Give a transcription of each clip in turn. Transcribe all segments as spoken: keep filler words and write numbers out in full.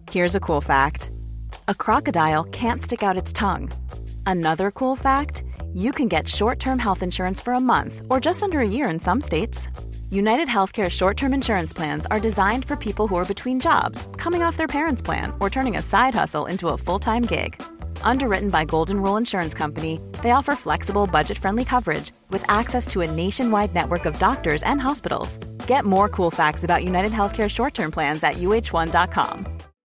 Here's a cool fact. A crocodile can't stick out its tongue. Another cool fact, you can get short-term health insurance for a month or just under a year in some states. United Healthcare short-term insurance plans are designed for people who are between jobs, coming off their parents' plan, or turning a side hustle into a full-time gig. Underwritten by Golden Rule Insurance Company, they offer flexible, budget-friendly coverage with access to a nationwide network of doctors and hospitals. Get more cool facts about United Healthcare short-term plans at U H one dot com.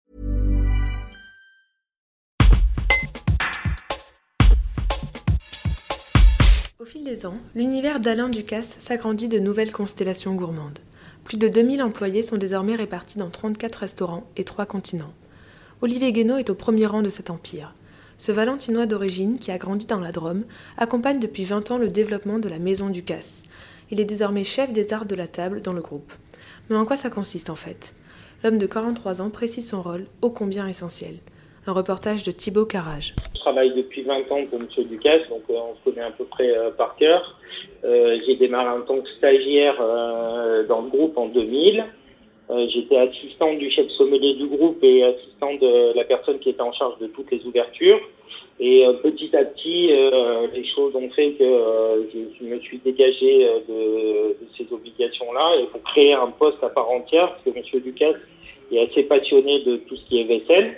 Au fil des ans, l'univers d'Alain Ducasse s'agrandit de nouvelles constellations gourmandes. Plus de deux mille employés sont désormais répartis dans trente-quatre restaurants et trois continents. Olivier Guénaud est au premier rang de cet empire. Ce Valentinois d'origine, qui a grandi dans la Drôme, accompagne depuis vingt ans le développement de la Maison Ducasse. Il est désormais chef des arts de la table dans le groupe. Mais en quoi ça consiste en fait ? L'homme de quarante-trois ans précise son rôle, ô combien essentiel. Un reportage de Thibaut Carrage. Je travaille depuis vingt ans pour M. Ducasse, donc euh, on se connaît à peu près euh, par cœur. Euh, j'ai démarré en tant que stagiaire euh, dans le groupe en deux mille. Euh, j'étais assistant du chef sommelier du groupe et assistant de la personne qui était en charge de toutes les ouvertures. Et euh, petit à petit, euh, les choses ont fait que euh, je, je me suis dégagé euh, de, de ces obligations-là et pour créer un poste à part entière, parce que M. Ducasse est assez passionné de tout ce qui est vaisselle.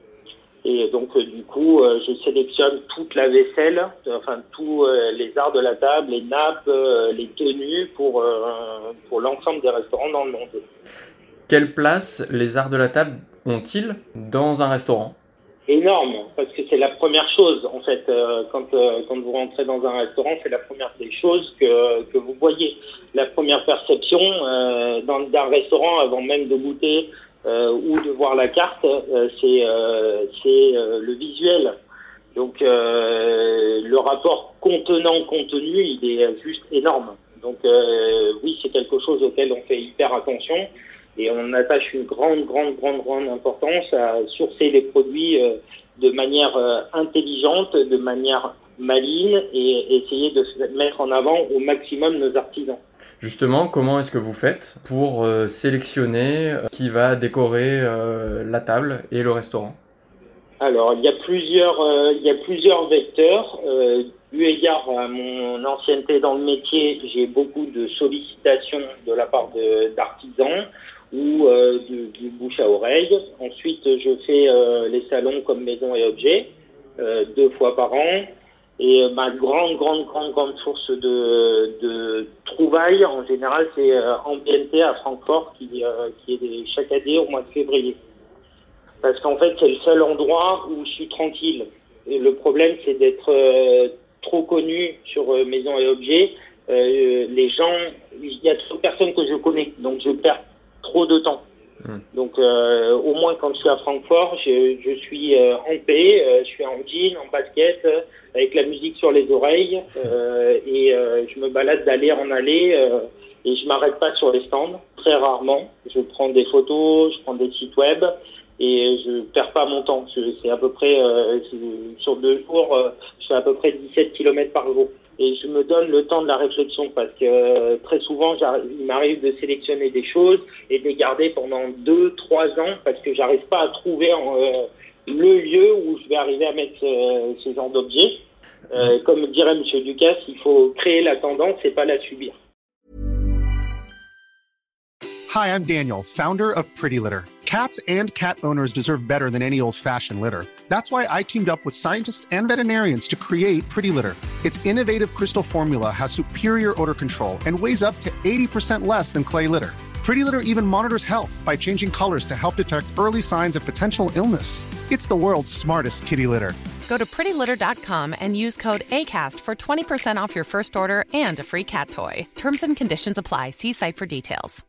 Et donc, euh, du coup, euh, je sélectionne toute la vaisselle, euh, enfin, tous euh, les arts de la table, les nappes, euh, les tenues pour, euh, pour l'ensemble des restaurants dans le monde. Quelle place les arts de la table ont-ils dans un restaurant ? Énorme, parce que c'est la première chose, en fait, euh, quand, euh, quand vous rentrez dans un restaurant, c'est la première des choses que, que vous voyez. La première perception euh, dans, d'un restaurant, avant même de goûter Euh, ou de voir la carte, euh, c'est, euh, c'est euh, le visuel. Donc euh, le rapport contenant-contenu, il est juste énorme. Donc euh, oui, c'est quelque chose auquel on fait hyper attention et on attache une grande, grande, grande, grande importance à sourcer les produits euh, de manière euh, intelligente, de manière maligne et essayer de mettre en avant au maximum nos artisans. Justement, comment est-ce que vous faites pour euh, sélectionner euh, qui va décorer euh, la table et le restaurant ? Alors, il y a plusieurs, euh, il y a plusieurs vecteurs. Euh, eu égard à mon ancienneté dans le métier, j'ai beaucoup de sollicitations de la part de, d'artisans ou euh, du, du bouche à oreille. Ensuite, je fais euh, les salons comme Maison et Objets euh, deux fois par an. Et ma grande, grande, grande, grande source de, de trouvailles, en général, c'est euh, Ambiente à Francfort, qui, euh, qui est chaque année au mois de février. Parce qu'en fait, c'est le seul endroit où je suis tranquille. Et le problème, c'est d'être euh, trop connu sur euh, Maison et Objets. Euh, les gens, il y a trop de personnes que je connais, donc je perds trop de temps. Donc euh, au moins quand je suis à Francfort, je, je suis euh, en paix, euh, je suis en jean, en basket, euh, avec la musique sur les oreilles euh, et euh, je me balade d'aller en aller euh, et je m'arrête pas sur les stands, très rarement. Je prends des photos, je prends des sites web et je perds pas mon temps. Je, c'est à peu près, euh, sur deux jours, euh, je fais à peu près dix-sept kilomètres par jour. Et je me donne le temps de la réflexion parce que euh, très souvent, il m'arrive de sélectionner des choses et de les garder pendant deux, trois ans parce que j'arrive pas à trouver euh, le lieu où je vais arriver à mettre euh, ce genre d'objet. Euh, comme dirait M. Ducasse, il faut créer la tendance et pas la subir. Hi, I'm Daniel, founder of Pretty Litter. Cats and cat owners deserve better than any old-fashioned litter. That's why I teamed up with scientists and veterinarians to create Pretty Litter. Its innovative crystal formula has superior odor control and weighs up to eighty percent less than clay litter. Pretty Litter even monitors health by changing colors to help detect early signs of potential illness. It's the world's smartest kitty litter. Go to pretty litter dot com and use code ACAST for twenty percent off your first order and a free cat toy. Terms and conditions apply. See site for details.